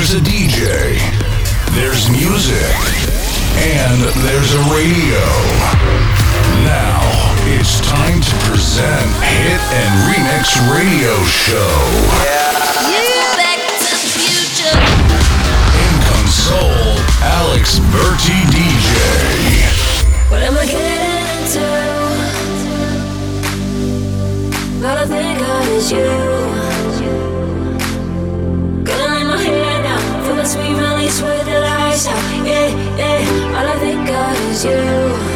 There's a DJ, there's music, and there's a radio. Now it's time to present Hit and Remix Radio Show. Yeah. Back to the future. In console, Alex Berti DJ. What am I getting into? All I think of is you. The sweet release with the lights out. Yeah, yeah. All I think of is you.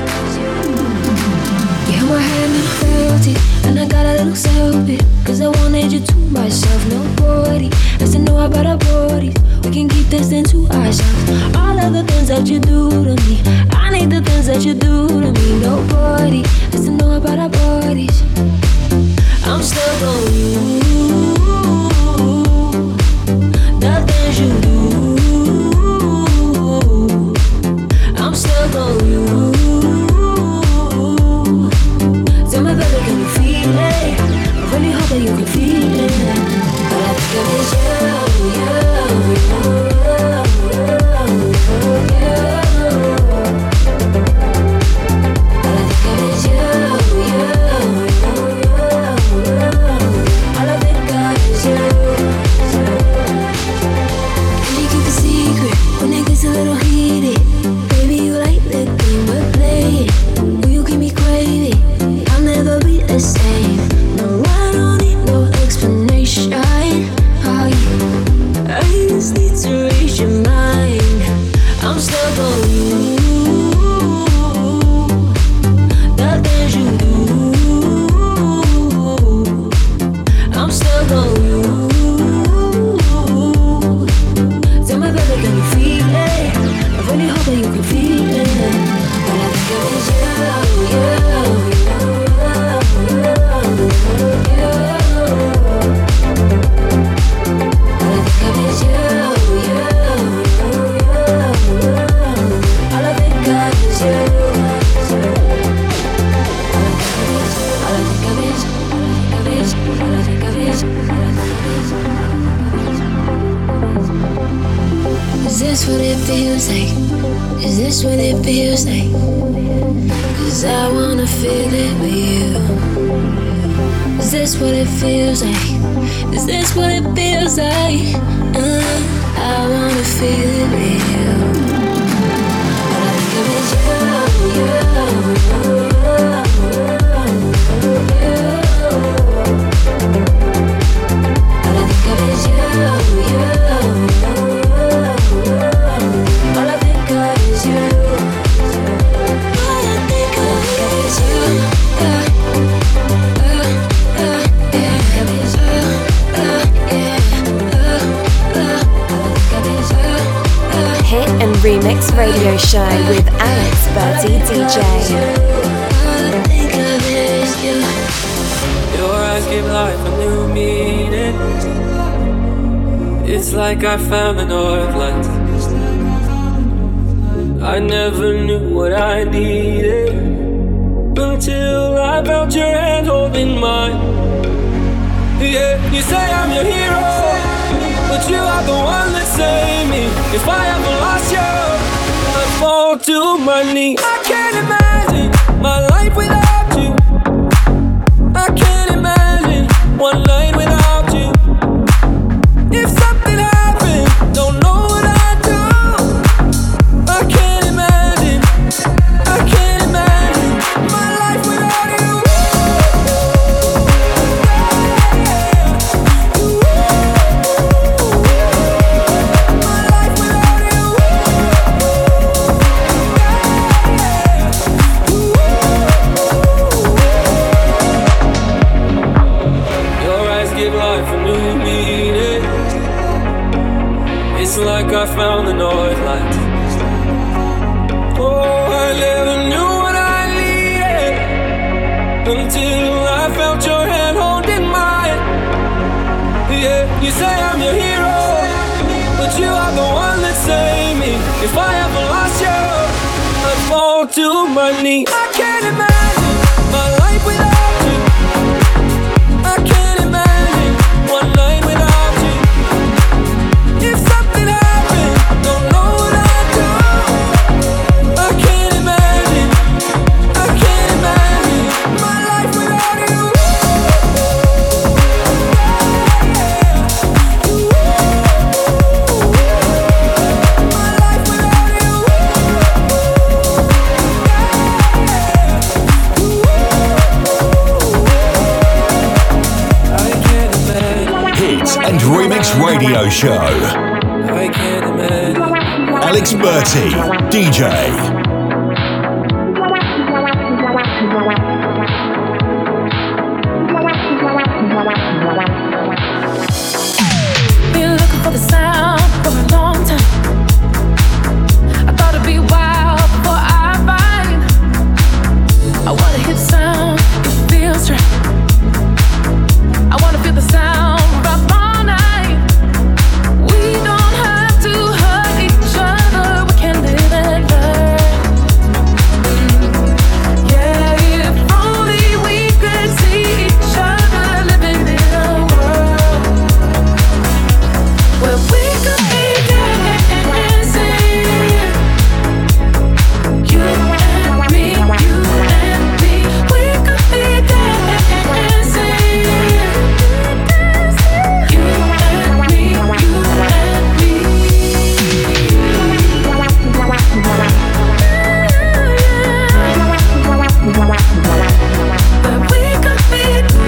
You held my hand and I felt it, and I got a little selfish, cause I wanted you to myself. Nobody has to know about our bodies. We can keep this thing to ourselves. All of the things that you do to me, I need the things that you do to me. Nobody has to know about our bodies. I'm stuck on you. The things you do, I'm stuck on you. Tell me, baby, can you feel it? I really hope that you can feel it. All I think of is you, you. All I think of is you, you. All I think of is you. When it gets a little heated, baby, you like the game we're playing. Will you keep me craving? I'll never be the same. No, I don't need no explanation. I just need to reach your mind. I'm stuck on you. The things you do, I'm stuck on you. Tell me, baby, can you feel it? I really hope that you can feel it. All I think of is you, you. All I think of is you, you. All I think of is you. All I think of is, all I think of is, all I think of is, all I think of is. Is this what it feels like? Is this what it feels like? Cause I wanna feel it with you. Is this what it feels like? Is this what it feels like? I wanna feel it with you. All I think of is you, you. All I think of is you, you. All I think of is you. All I think of is you. Hit and Remix Radio Show with Alex Berti DJ. All I think of is you. Your eyes give life a new meaning. It's like I found the north lights. I never knew what I needed until I felt your hand holding mine. Yeah, you say I'm your hero, but you are the one that saved me. If I ever lost you, I'd fall to my knees. I can't imagine my life without you. I can't imagine one night without you. If something happened, don't know what I'd do. I can't imagine my life without you. My life without you. Your eyes give life a new meaning. It's like I found the north lights. Oh, I never knew what I needed until I felt your hand holding mine. Yeah, you say I'm your hero, but you are the one that saved me. If I ever lost you, I'd fall to my knees. I can't imagine my life without you. I can't imagine one night without you. If something happens, and Remix Radio Show. I can't imagine. Alex Berti, DJ. Been looking for the sound for a long time. I thought it'd be a while before I find. I wanna hear the sound, it feels right. I wanna feel the sound up all night. We don't have to hurt each other. We can live and learn. Yeah, if only we could see each other living in a world where we could be dancing. You and me, you and me. We could be dancing. You and me, you and me. But we could be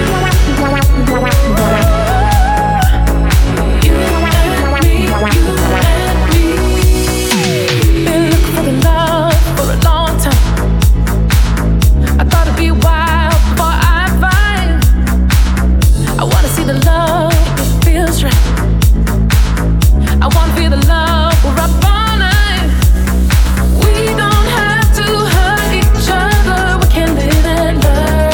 you and me, you and me. Been looking for the love for a long time. I thought it'd be a while before I find. I wanna see the love that feels right. I wanna feel the love we're up all night. We don't have to hurt each other. We can live and learn.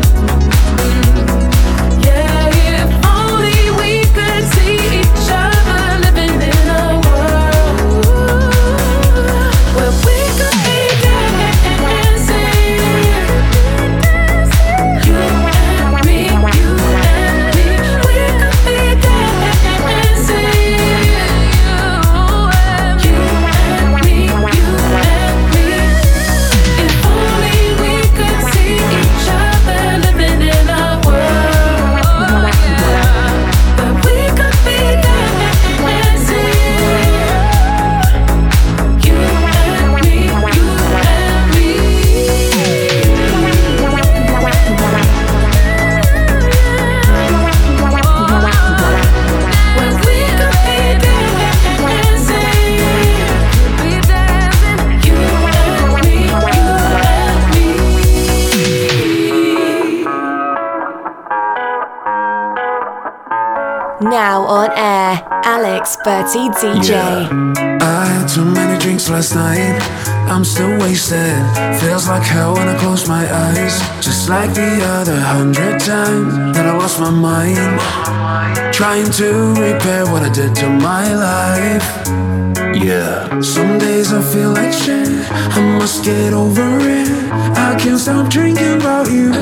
Yeah, if only we could see each other living in a world where we could be dancing. You and me, you and me. We could be dancing. You and me, you and me. If only we could see each other living in a world that we could be dancing. You and me, you and me. When we could be dancing, you and me, you and me. Now on air, Alex Berti DJ. I had too many drinks last night. I'm still wasted. Feels like hell when I close my eyes. Just like the other 100 times that I lost my mind. Trying to repair what I did to my life. Yeah. Some days I feel like shit. I must get over it. I can't stop drinking about you.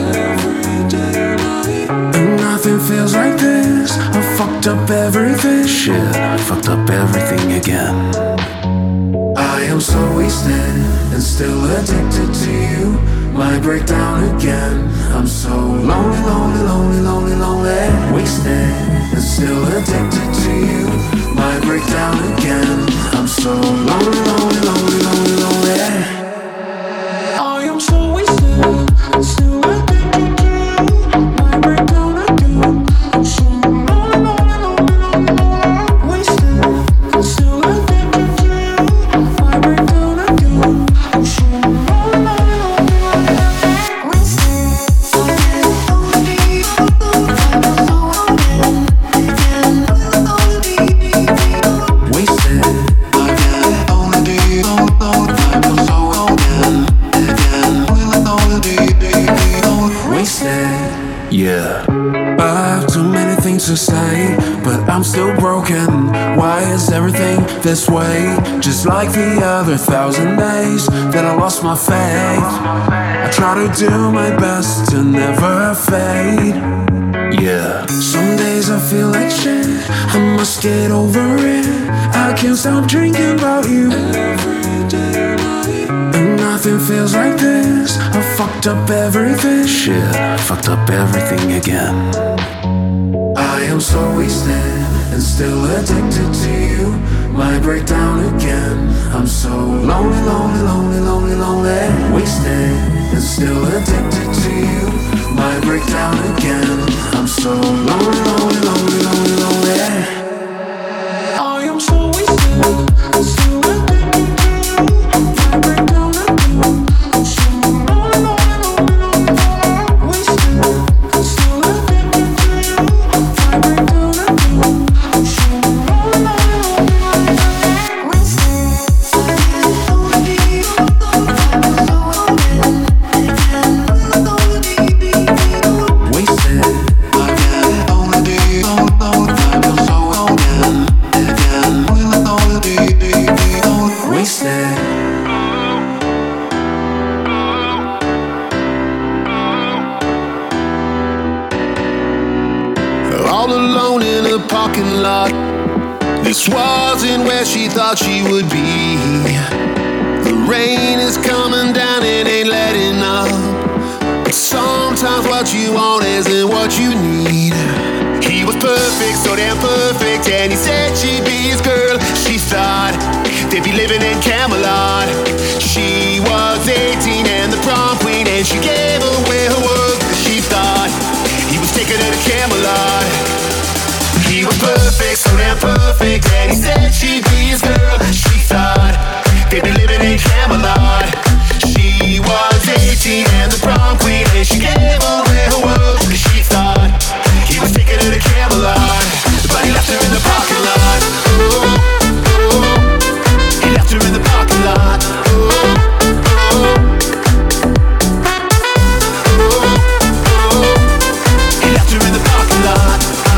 And nothing feels like this. I fucked up everything. Shit, I fucked up everything again. I am so wasted and still addicted to you. My breakdown again. I'm so lonely, lonely, lonely, lonely, lonely. Wasted and still addicted to you. My breakdown again. I'm so lonely, lonely, lonely, lonely, lonely. I am so wasted and still addicted to you. My breakdown again. I'm so lonely, lonely, lonely, lonely, lonely. Wasted and still addicted to you. My breakdown again. I'm so lonely, lonely, lonely, lonely. Wasted yeah. I have too many things to say, but I'm still broken. Why is everything this way? Just like the other 1,000 days that I lost my faith. I try to do my best to never fade. Yeah. Some days I feel like shit. I must get over it. I can't stop drinking about you. And nothing feels like this. I fucked up everything. Shit, I fucked up everything again. I am so wasted and still addicted to you. My breakdown again. I'm so lonely, lonely, lonely, lonely, lonely. Wasted and still addicted to you. My breakdown again. I'm so lonely, lonely, lonely, lonely, lonely. parking lot. This wasn't where she thought she would be. The rain is coming down and ain't letting up. But sometimes what you want isn't what you need. He was perfect, so damn perfect, and he said she'd be his girl. She thought they'd be living in Camelot. She was 18 and the prom queen, and she gave away her world. She thought he was taking her to Camelot. He was perfect, so damn perfect, and he said she'd be his girl. She thought they'd be living in Camelot. She was 18 and the prom queen, and she gave away her world. She thought he was taking her to Camelot, but he left her in the parking lot. Ooh, ooh. He left her in the parking lot. Ooh, ooh. Ooh, ooh. He left her in the parking lot.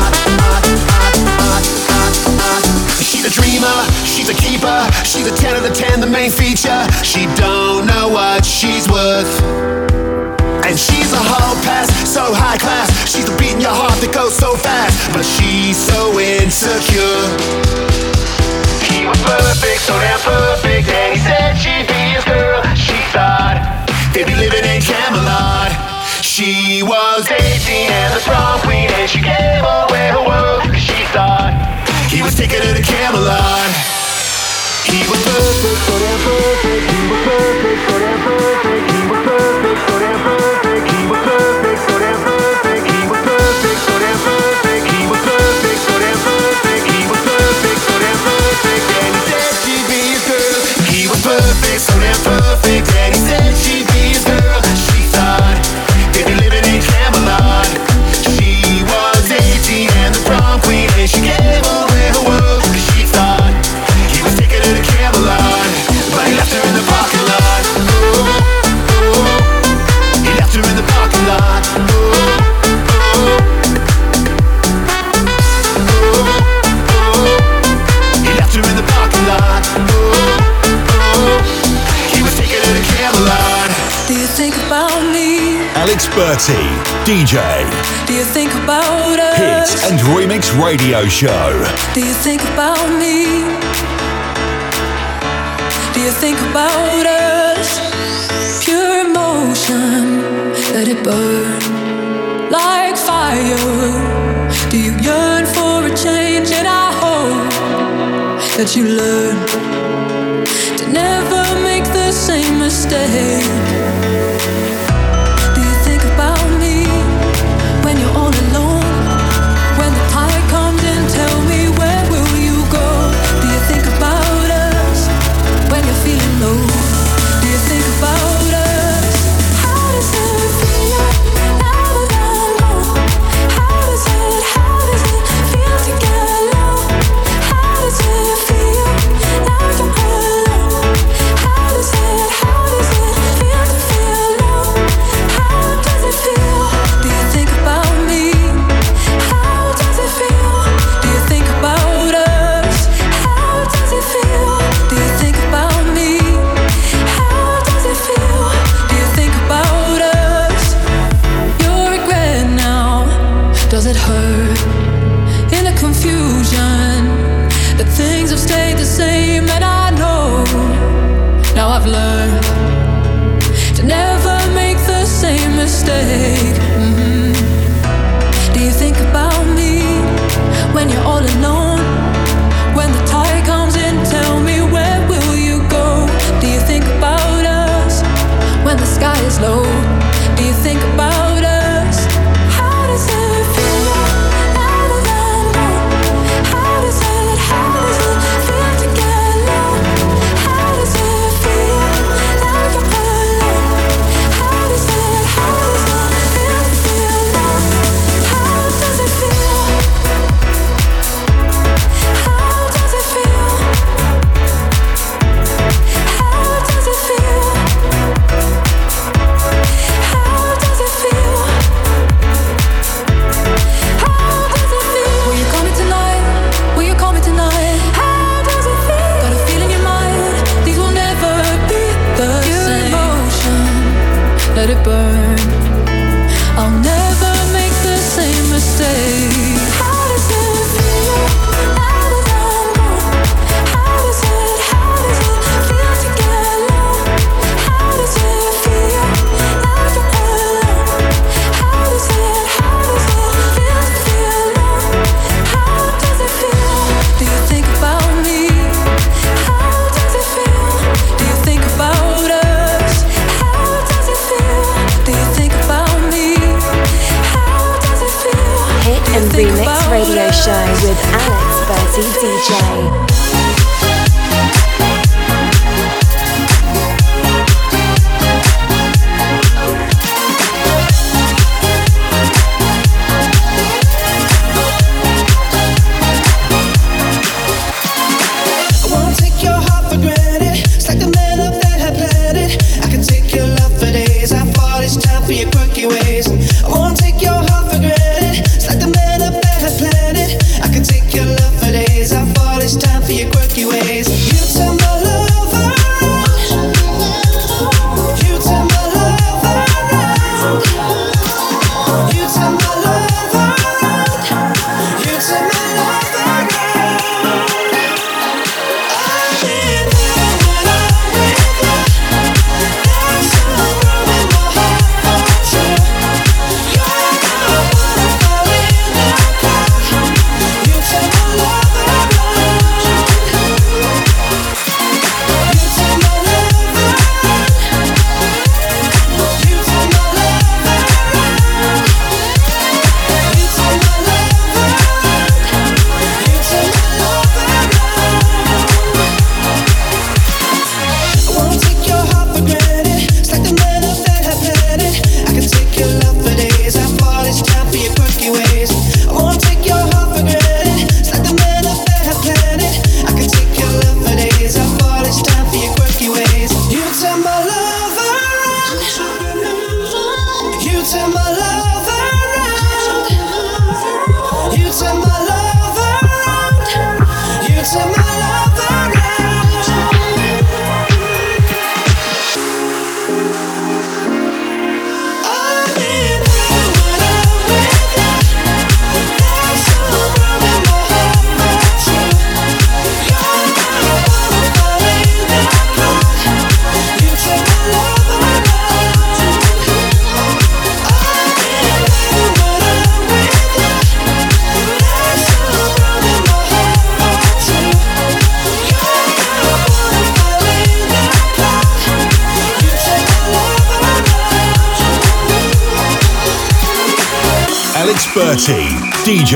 She's a dreamer, she's a keeper, she's a 10 out of 10, the main feature. She don't know what she's worth, and she's a hall pass, so high class. She's a beat in your heart that goes so fast, but she's so insecure. He was perfect, so damn perfect, and he said she'd be his girl. She thought they'd be living in Camelot. She was 18 and the prom queen, and she gave away her world. She thought he was taking her to Camelot. He was perfect, so damn perfect. He was perfect, so damn perfect. He was perfect, so damn perfect. He was perfect, so damn perfect. He was perfect, so damn perfect. He was perfect, so damn perfect. He was perfect, so damn perfect. And he said she'd be his girl. He was perfect, so damn perfect. And he said she'd be his girl. She thought they'd be living in Camelot. She was 18 and the prom queen, and she gave away her world. She thought he was taking her to Camelot, but he left her in the parking lot. Ooh, ooh. He left her in the parking lot. Ooh, ooh. Ooh, ooh. He left her in the parking lot. Ooh, ooh. He was taking her to Camelot. Do you think about me? Alex Berti, DJ. Do you think about us? Hit and Remix Radio Show. Do you think about me? Do you think about us? Pure emotion, let it burn like fire. Do you yearn for a change? And I hope that you learn to never make the same mistake. Do you think about me when you're all alone? When the tide comes in, tell me, where will you go? Do you think about us when you're feeling low? Do you think about us? How does it feel now that I'm gone? How does it feel to get low? How does it feel now you're alone? How does it feel to feel low? How does it feel? Do you think about me? How does it feel? Do you think about us? How does it feel? Do you think about me? How does it feel? Do you think about us? Your regret now, does it hurt? In the confusion, that things have stayed the same, and I know now I've learned to never make the same mistake. Do you think about me when you're all alone? When the tide comes in, tell me, where will you go? Do you think about us when the sky is low? Do you think about us? How does it feel now that I'm gone? How does it feel to get low? How does it feel now you're alone? How does it feel DJ. Bertie, DJ.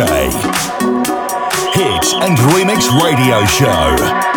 Hit and Remix Radio Show.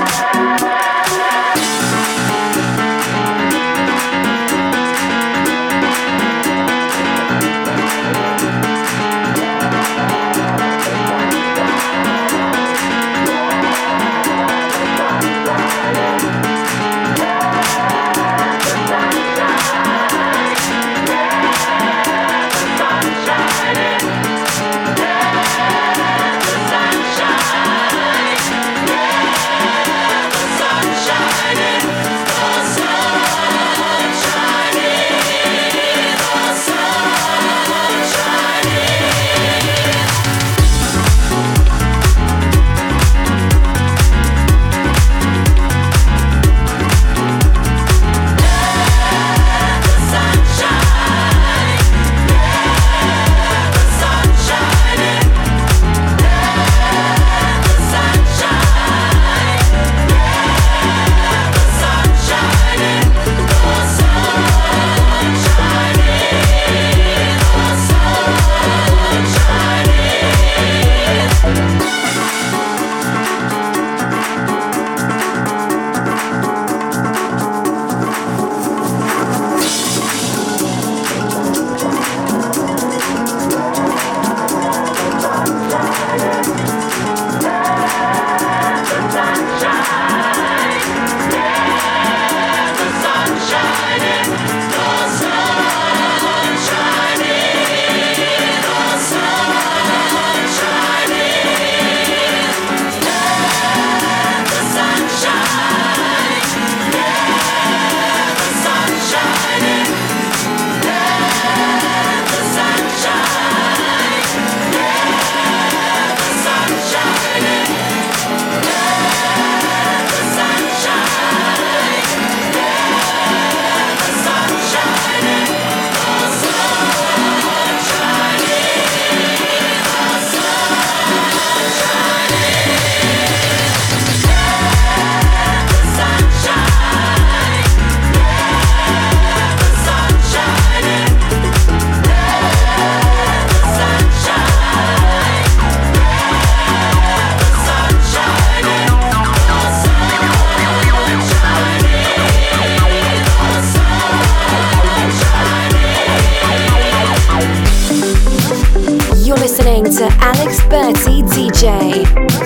to Alex Berti DJ.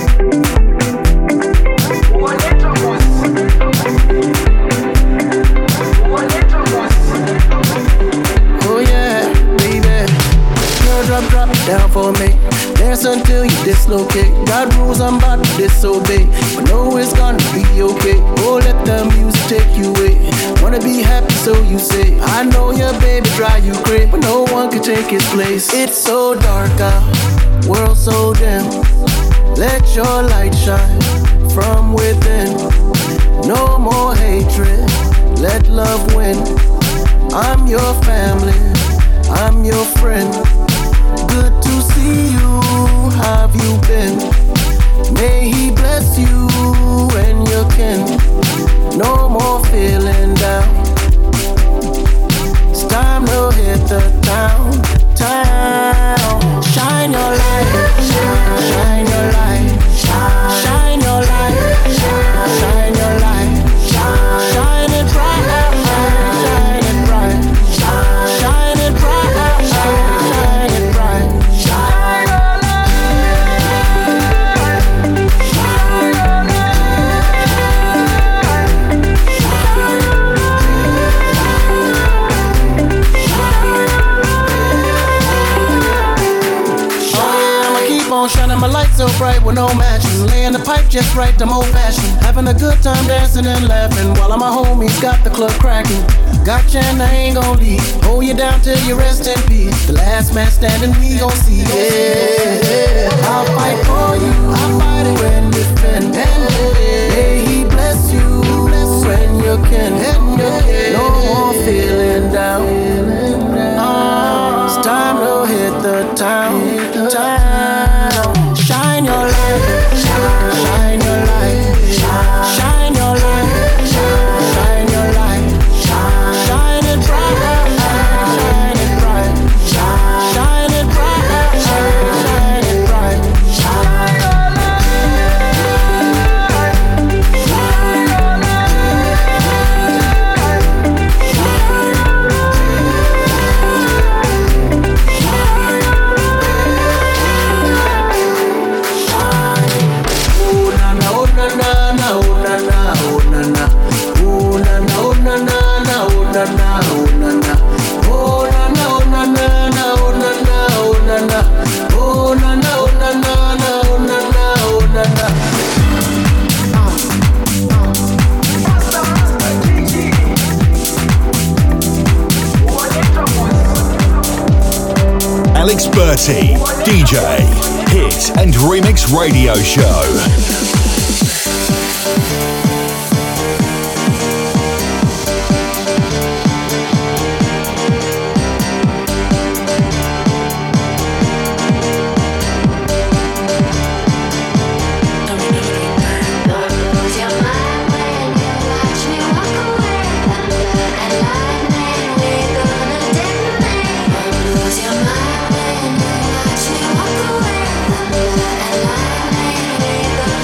Drop it down for me. Dance until you dislocate. God rules, I'm about to disobey, but know it's gonna be okay. Oh, let the music take you away. Wanna be happy, so you say. I know your baby drive you crazy, but no one can take his place. It's so dark out, world so dim. Let your light shine from within. No more hatred, let love win. I'm your family, I'm your friend. Good to see you, how have you been? May he bless you and your kin. No more feeling down. It's time to hit the town. Shine your light, shine your light, shine your light, shine your light, shine it bright, shine it bright, shine it bright, shine it bright. Shining my light so bright with no matching. Laying the pipe just right, I'm old fashioned. Having a good time dancing and laughing while all my homies got the club cracking. Gotcha and I ain't gon' leave. Hold you down till you rest in peace. The last man standing, we gon' see. Yeah, I'll fight for you. I'll fight it when you fin. May he bless you when you can. No more feeling down. It's time to hit the town. Shine your light, shine your light, shine your light, shine your light, shine it bright, shine it bright, shine it bright, shine it bright, shine your Alex Berti, DJ, Hit and Remix Radio Show. Lose your mind when you watch me walk away. Thunder and lightning, we gonna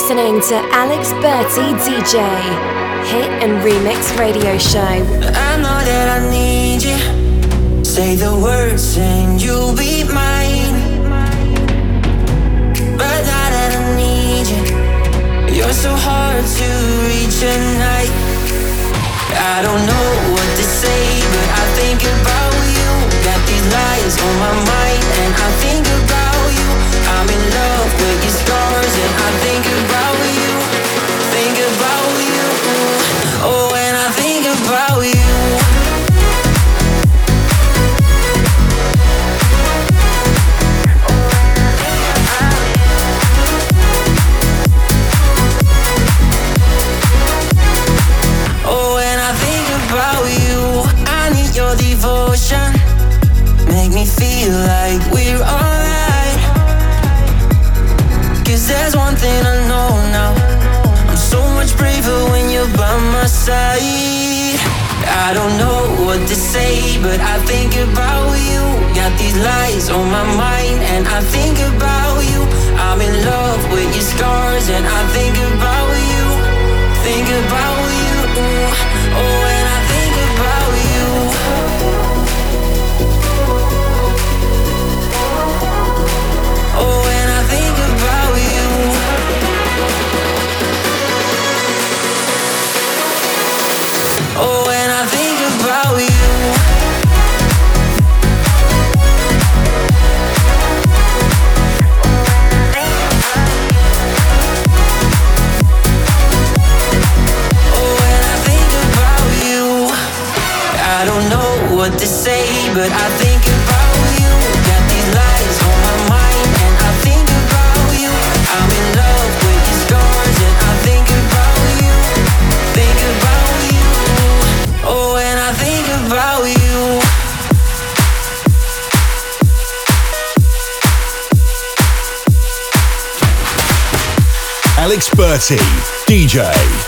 listening to Alex Berti DJ, Hit and Remix Radio Show. I know that I need you. Say the words and you'll be mine. But now that I need you, you're so hard to reach at night. I don't know what to say, but I think about you. Got these lies on my mind, and I think about you. I'm in love with your scars, and I think about you. Think about you. Oh, and I think about you. Devotion, make me feel like we're alright. Cause there's one thing I know now, I'm so much braver when you're by my side. I don't know what to say, but I think about you. Got these lies on my mind, and I think about you. I'm in love with your scars, and I think about you. Think about you. Oh, and I think about you. Oh, and I think about you. Oh, and I think about you. Oh, and I think about you. I don't know what to say, but I think about you. Got these lies on my mind, and I think about you. I'm in love with your scars, and I think about you. Think about you. Oh, and I think about you. Alex Berti, DJ.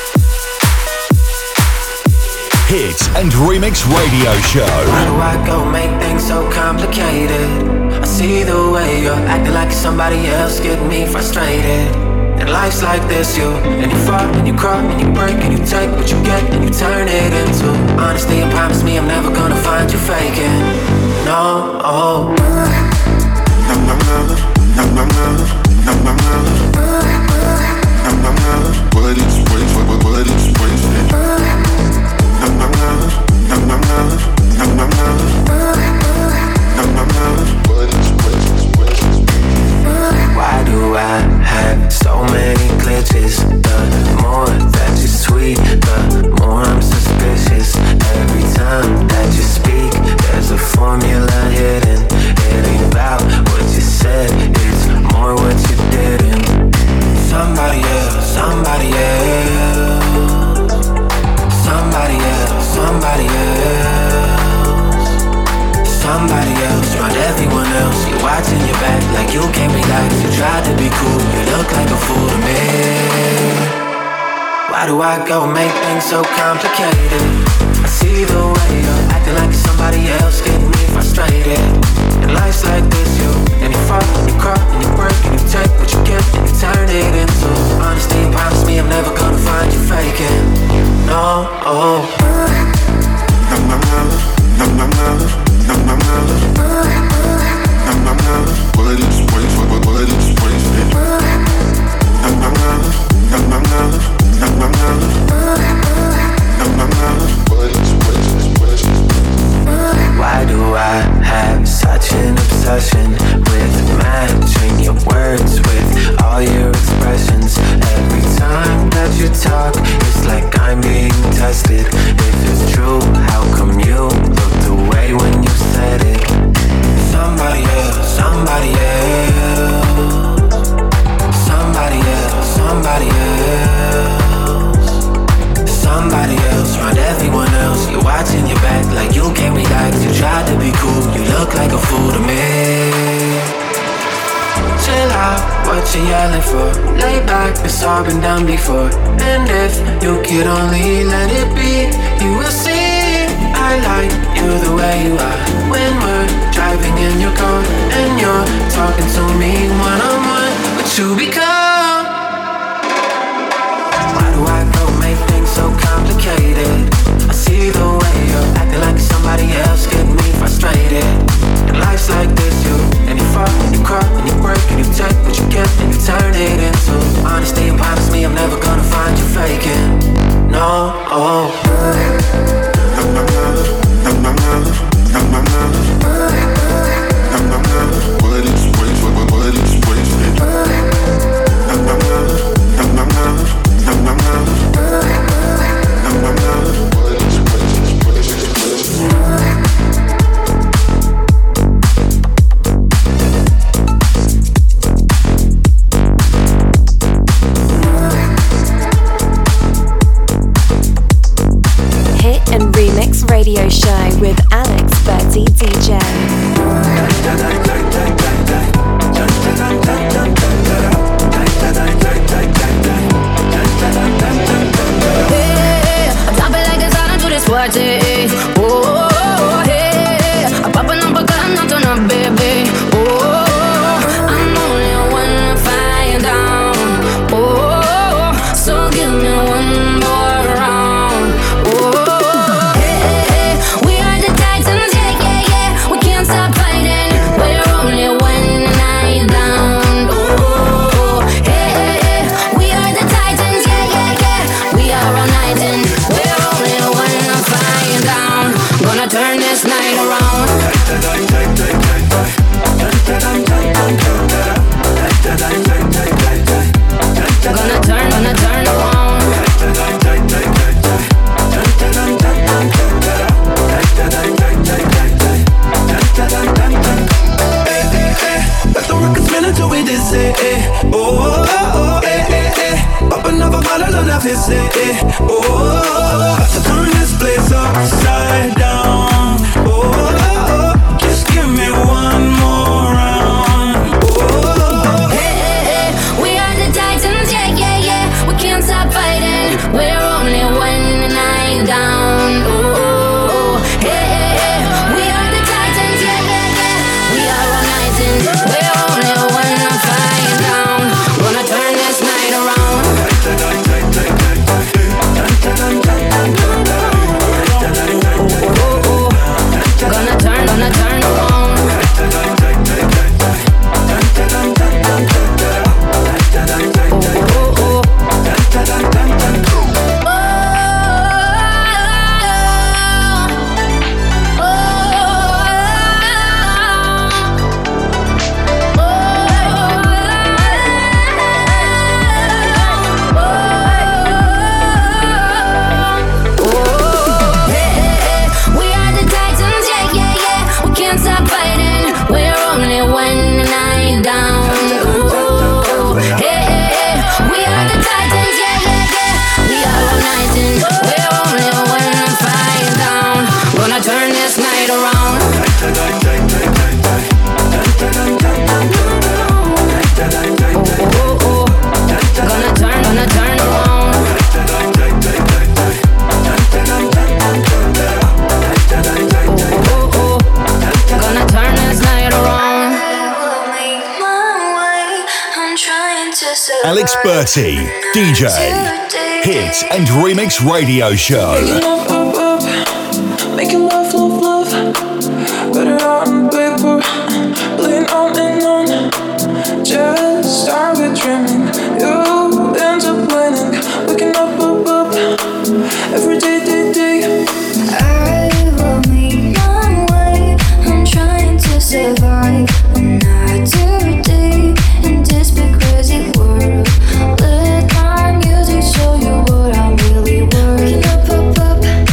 Hit and Remix Radio Show. Why do I go make things so complicated? I see the way you're acting like somebody else, get me frustrated. And life's like this, and you fall, and you crawl, and you break, and you take what you get, and you turn it into honesty, and promise me I'm never gonna find you faking. No, oh. What is wasted? What is wasted? Why do I have so many glitches? The more that you sweet, the more I'm suspicious. Every time that you speak, there's a formula hidden. It ain't about what you said, it's more what you didn't. Somebody else, somebody else. Somebody else, somebody else. Somebody else, around everyone else. You're watching your back like you can't relax. You tried to be cool, you look like a fool to me. Why do I go make things so complicated? I see the way you're acting like somebody else, getting me frustrated. And life's like this, and you fall, and you crawl, and you break, and you take what you get, and you turn it into honesty, and promise me I'm never gonna find you faking. No, oh. What is wasted? What is wasted? Why do I have such an obsession with matching your words with all your expressions? Every time that you talk, it's like I'm being tested. If it's true, how come you looked away when you said it? Somebody else, somebody else. Somebody else, somebody else. Somebody else, around everyone else. You're watching your back like you can't relax. You tried to be cool, you look like a fool to me. Chill out, what you yelling for? Lay back, it's all been done before. And if you could only let it be, you will see I like you the way you are. When we're driving in your car and you're talking to me one-on-one, what you become. DJ. Hey, I drop it like it's hot into this party. Oh, hey, I'm popping up a gun, not on a baby. Oh, I'm only one flying down. Oh, so give me one more round. Oh, hey, we are the Titans, yeah, yeah, yeah. We can't stop fighting. We're only one night down. Oh, hey, we are the Titans, yeah, yeah, yeah. We are all night and we're only one flying down. Gonna turn this night around. Gonna turn around. Let the record spin until we dizzy. Oh, oh, oh, eh, eh, eh. Pop another bottle on that fizzy. Oh, about to turn this place upside down. Oh, oh, oh, just give me one more round. Oh, hey, we are the Titans, yeah, yeah, yeah. We can't stop fighting. We're only one night down. Oh, hey, we are the Titans, yeah, yeah, yeah. We are all night and we're only one flying down. Gonna turn this night around. Gonna turn around. Turn this night around. Gonna turn around. Gonna turn this night around. Alex Berti, DJ, Hit and Remix Radio Show. Making love, love, love. Better on paper, playing on and on. Just start with dreaming. You end up planning, waking up, up, up. Every day, day, day. I will make my way. I'm trying to survive another day in this big crazy world. Let my music show you what I'm really worth. Waking up, up, up.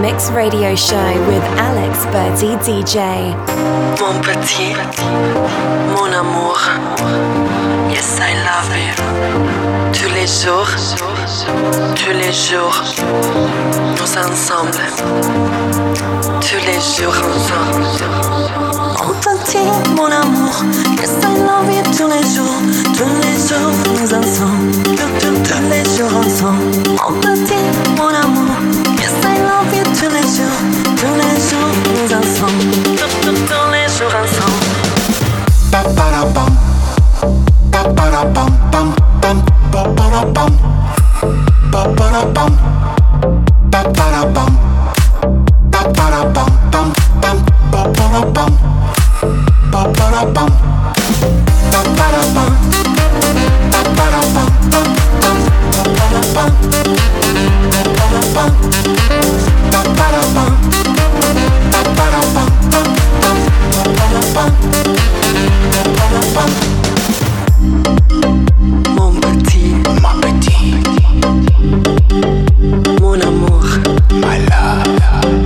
Remix Radio Show with Alex Berti DJ. Mon petit, mon amour, yes I love you. Tous les jours, nous ensemble. Tous les jours ensemble. Mon petit, mon amour, yes I love you. Tous les jours, nous ensemble. Tous les jours ensemble. Mon petit, mon amour, yes I love you. Tous les jours, nous ensemble. Tous les jours ensemble. Ba ba da bum, ba ba da bum bum bum, ba ba da bum, ba ba da bum, ba ba da bum, ba ba da bum bum bum, ba ba da bum, ba ba da bum, ba ba da bum, ba ba da bum bum bum, ba ba da bum, ba ba da bum, ba ba da bum, ba ba da bum bum bum, ba ba da bum. Mon petit, mon amour, my love,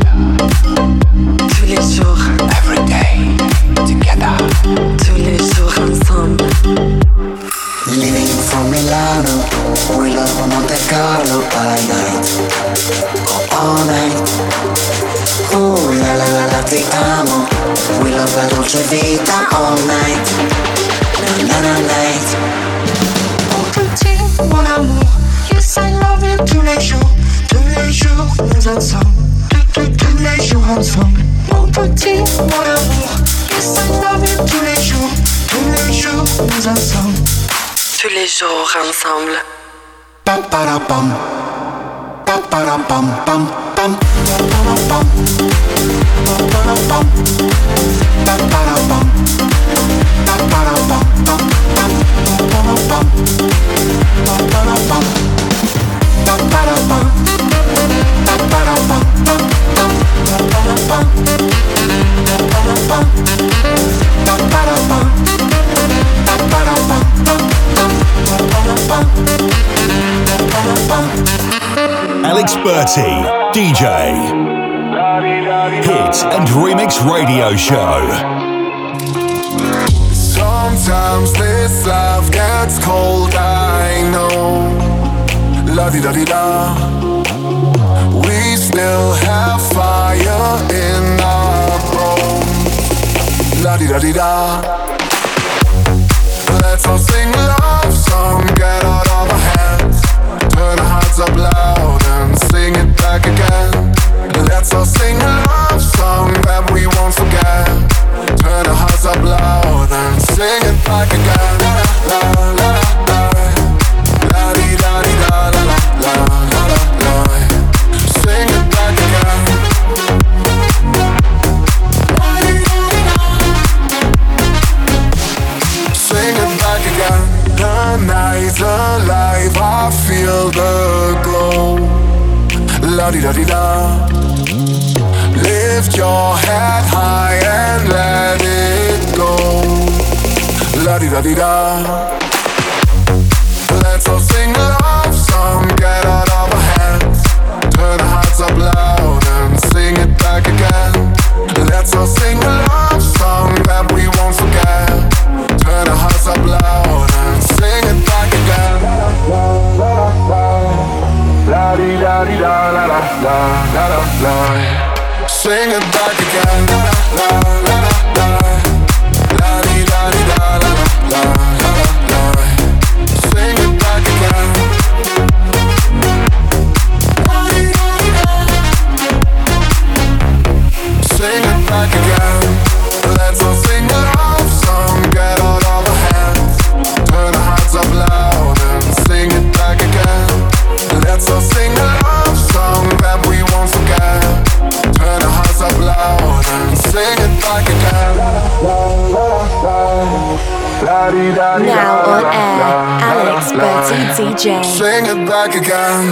tous les jours, every day, together, tous les jours ensemble. Living from Milano, we love Monte Carlo by night, all night. Oh la la la la, ti amo, we love la dolce vita all night, na na night. Mon petit, mon amour, yes I love you. Tous les jours, nous ensemble. Tous les jours ensemble. Mon petit, mon amour, yes I love you. Tous les jours, nous ensemble. Tous les jours ensemble. Ba ba da bum, ba ba da bum bum bum, ba ba da bum, ba ba da bum, ba ba da bum, ba ba da bum bum bum, ba ba da bum, ba ba da bum, ba ba da bum, ba ba da bum bum bum, ba ba da bum, ba ba da bum, ba ba da bum, ba ba da bum bum bum, ba ba da bum. Alex Berti, DJ. Hit and Remix Radio Show. Sometimes this love gets cold, I know. La-di-da-di-da. We still have fire in our bones. La-di-da-di-da. Let's all sing a love song, get out of our hands. Turn our hearts up loud and sing it back again. Let's all sing a love song that we won't forget. Turn our hearts up loud and sing it back again. La la la la, la di da di da la la la la la. Sing it back again. Sing it back again. The night's alive, I feel the glow. La-di-da-di-da. Lift your head high and let it go. La-di-da-di-da. Let's all sing a love song, get out of our hands. Turn our hearts up loud and sing it back again. Let's all sing a love song that we won't forget. Turn our hearts up loud and sing it back again. La di da di da la la la la la la. Sing it back again. La la la la. La di da di da la la la la. Sing it back again. La di da di da. Sing it back again. Let's all sing a love song, get out of our hands. Turn our hearts up loud and sing it back again. Let's all sing a love song that we won't forget. Turn our hearts up loud and sing it back again. Now on air, Alex Berti DJ. Sing it back again.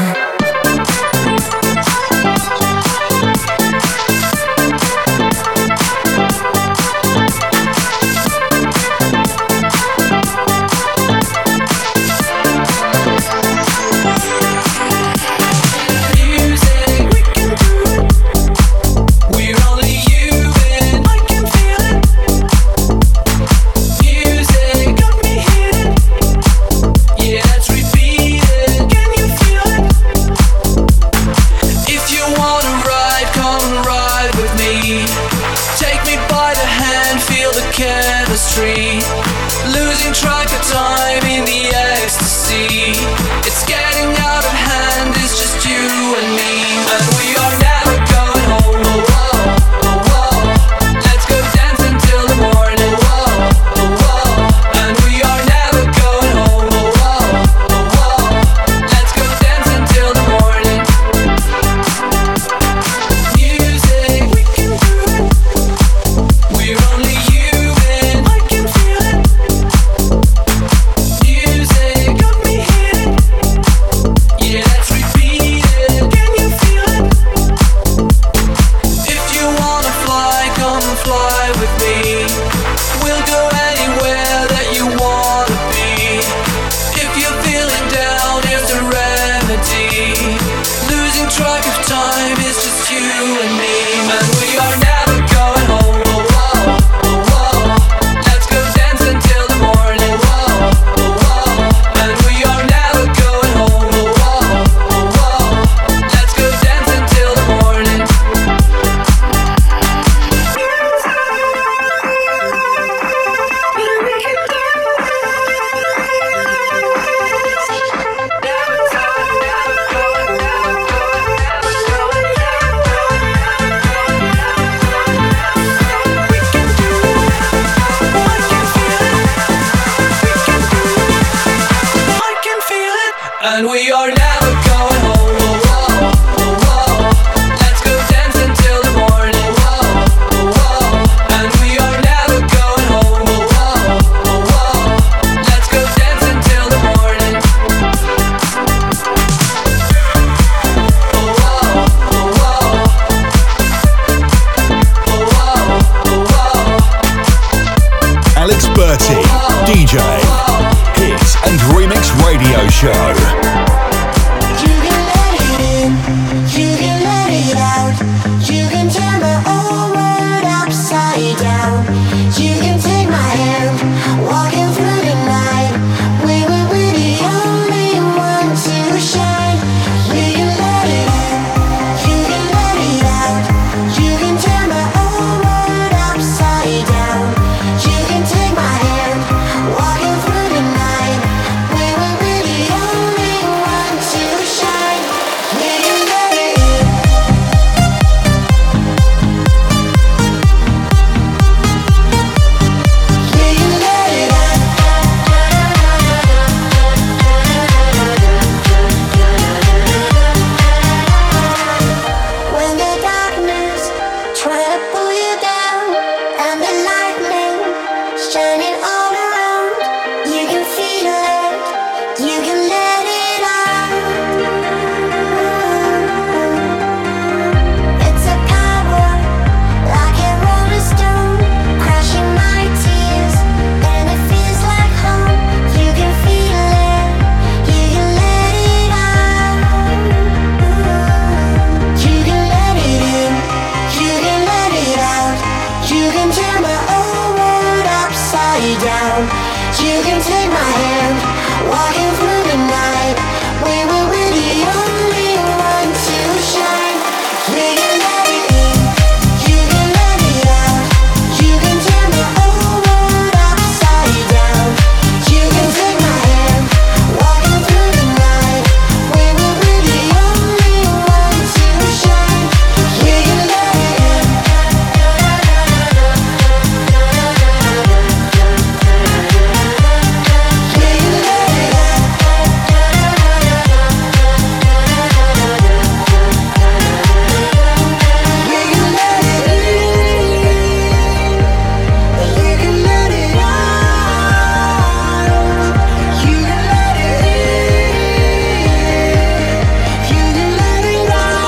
Bertie, DJ, Hit and Remix Radio Show. You can let it in, you can let it out. You can turn my whole world upside down. You can take my hand, walking through the night. We were the only one to shine. We can let it in, you can let it out. You can turn my whole world upside down. You can take my hand, walking through the night. We were the only one to shine. We can let it in. We can let it out. When the darkness try to pull you down and the lightning shining all around, you can feel it, you can let it out. It's a power like a rolling stone, crushing my tears, and it feels like home. You can feel it, you can let it out. You can let it in, you can let it out. You can turn my whole world upside down. You can take my hand, walking through the night. We were the only one to shine. We can let it in, you can let it out. You can turn my whole world upside down. You can take my hand, walking through the night. We were the only one to shine. We can let it in. We can let it out. We can let it in. You can let it out. You can let it in. You can let it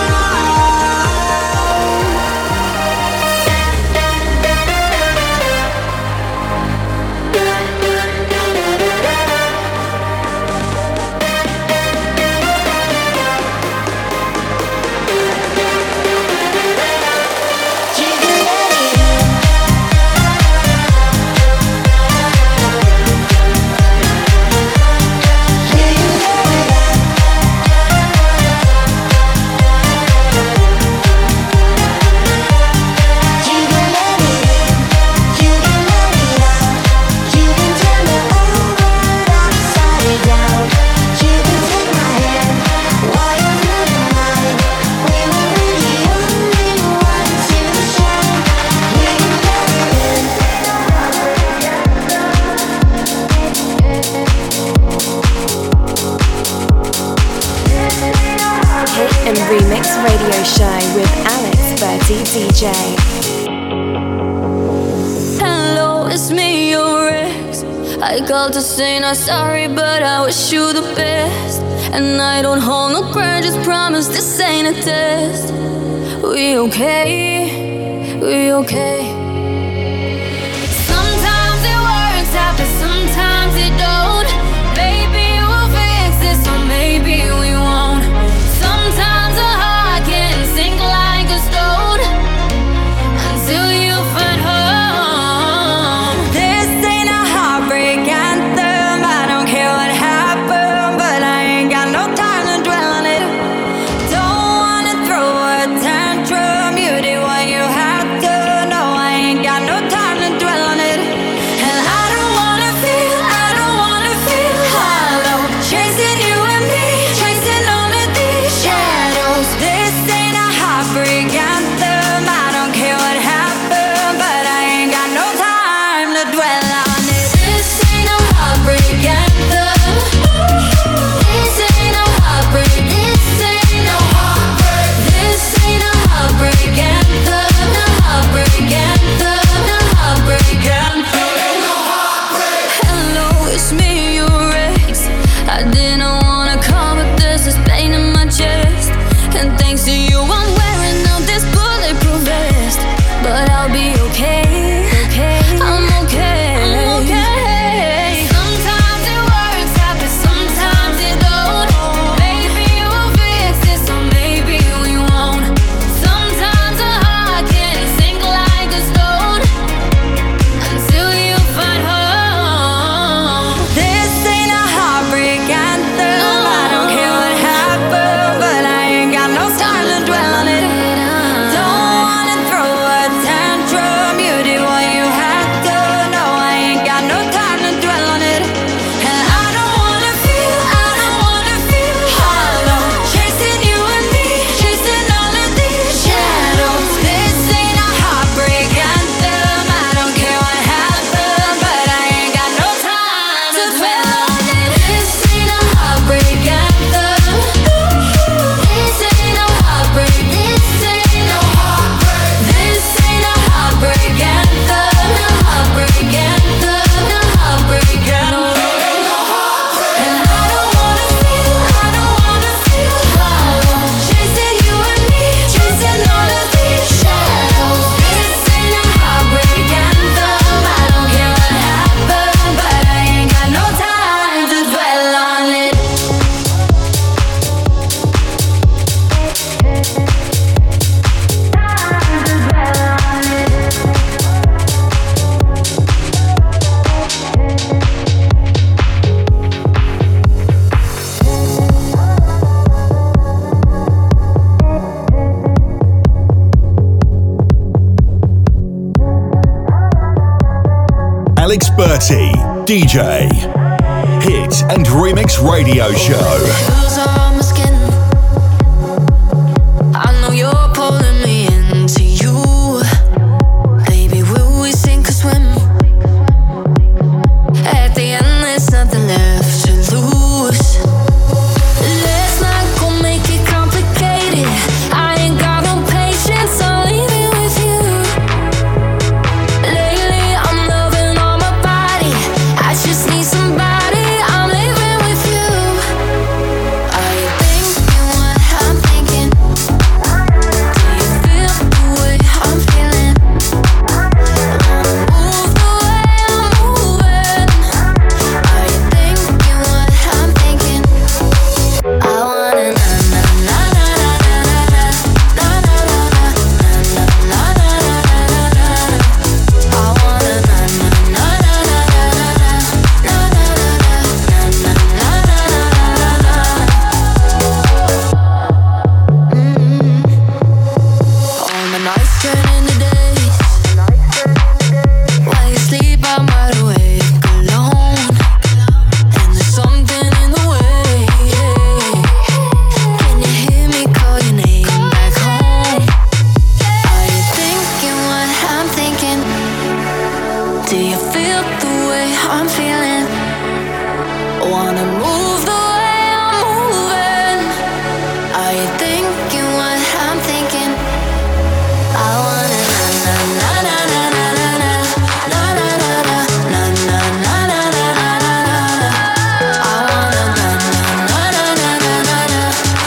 Hit and Remix Radio Show with Alex Bertie DJ. Hello, it's me, your ex. I called to say not sorry, but I wish you the best. And I don't hold no grudges, promise this ain't a test. We okay, we okay. Sometimes it works out, but sometimes it don't. Maybe we'll fix this, or maybe we won't. Sometimes a heart can sink like a stone until you find home. This ain't a heartbreak anthem. I don't care what happened, but I ain't got no time to dwell on it. Don't wanna throw a tantrum. You did what you had to. No, I Alex Berti, DJ. Hit and Remix Radio Show. I know you're pulling me into you. Baby, will we sink or swim? At the end, there's nothing left to lose. Let's not go make it complicated. I ain't got no patience, I'll leave it with you. Lately, I'm loving all my body. I just need somebody, I'm living with you. Are you thinking what I'm thinking? Do you feel the way I'm feeling? Move the way I'm moving. Are you thinking what I'm thinking? I wanna na na na na na na na na na na na na na. I wanna na na na na na na na all my nights turn into days. While you sleep, I'm wide awake alone. And there's something in the way. Can you hear me call your name back home? Are you thinking what I'm thinking? Do you feel the way I'm feeling? Wanna move the way I'm moving. Are you thinking what I'm thinking? I wanna na na na na na na na na na na na na na na na. I wanna na na na na na na na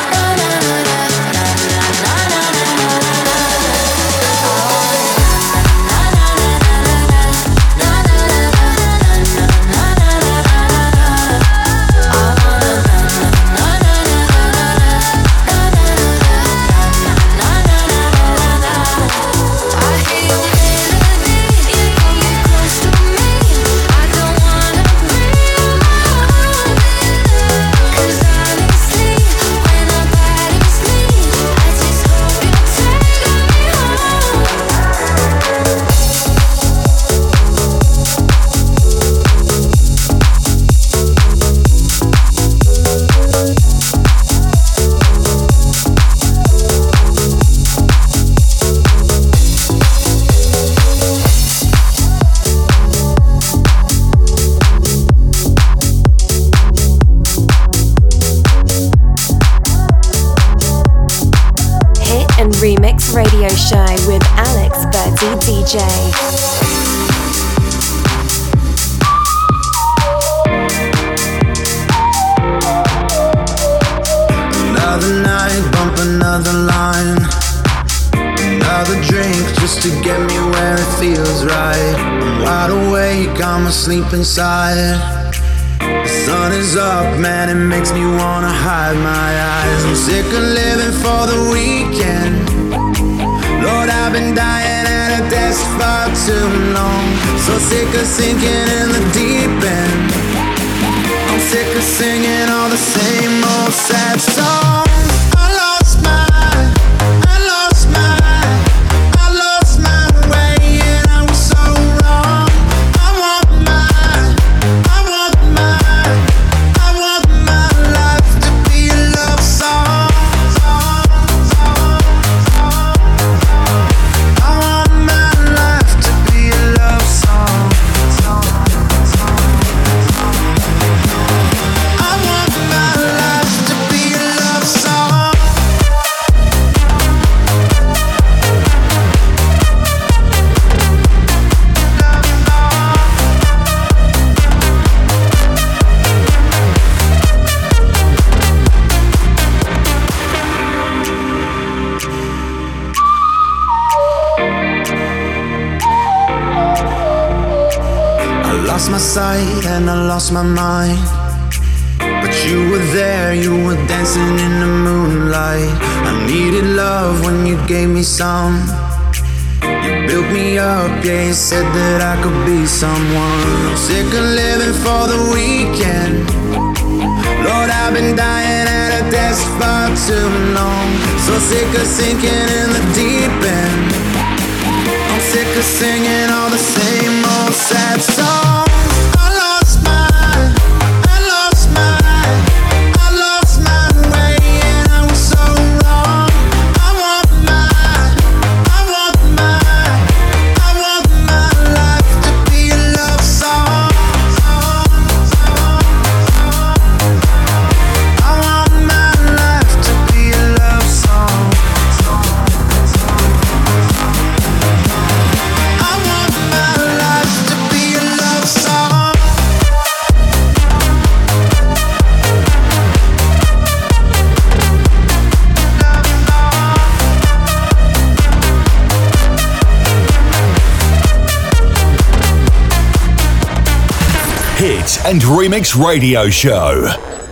Hit and Remix Radio Show with Alex Berti DJ. Another night, bump another line. Another drink just to get me where it feels right. I'm wide awake, I'm asleep inside. The sun is up, man, it makes me wanna hide my eyes. I'm sick of living for the weekend. Lord, I've been dying at a desk for too long. So sick of sinking in the deep end. I'm sick of singing all the same old sad songs. I lost my way and I was so wrong. I want my life to be a love song. I want my life to be a love song. I want my life to be a love song. I lost my sight and I lost my mind. But you were there, you were dancing in the moonlight. I needed love when you gave me some. You built me up, yeah, you said that I could be someone. I'm sick of living for the weekend. Lord, I've been dying at a desk for too long. So sick of sinking in the deep end. I'm sick of singing all the same old sad songs. and Remix Radio Show.